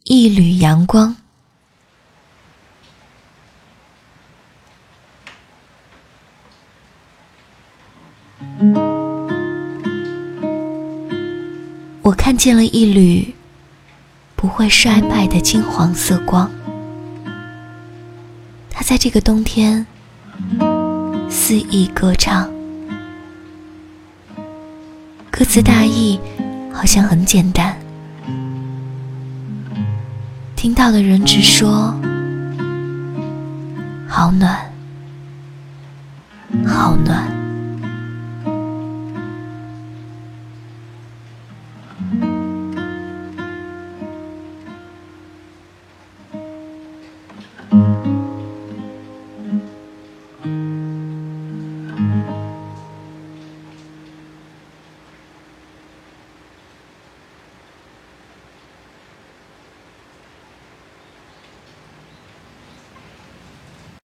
一缕阳光。我看见了一缕不会衰败的金黄色光，它在这个冬天肆意歌唱。歌词大意好像很简单，听到的人只说好暖好暖。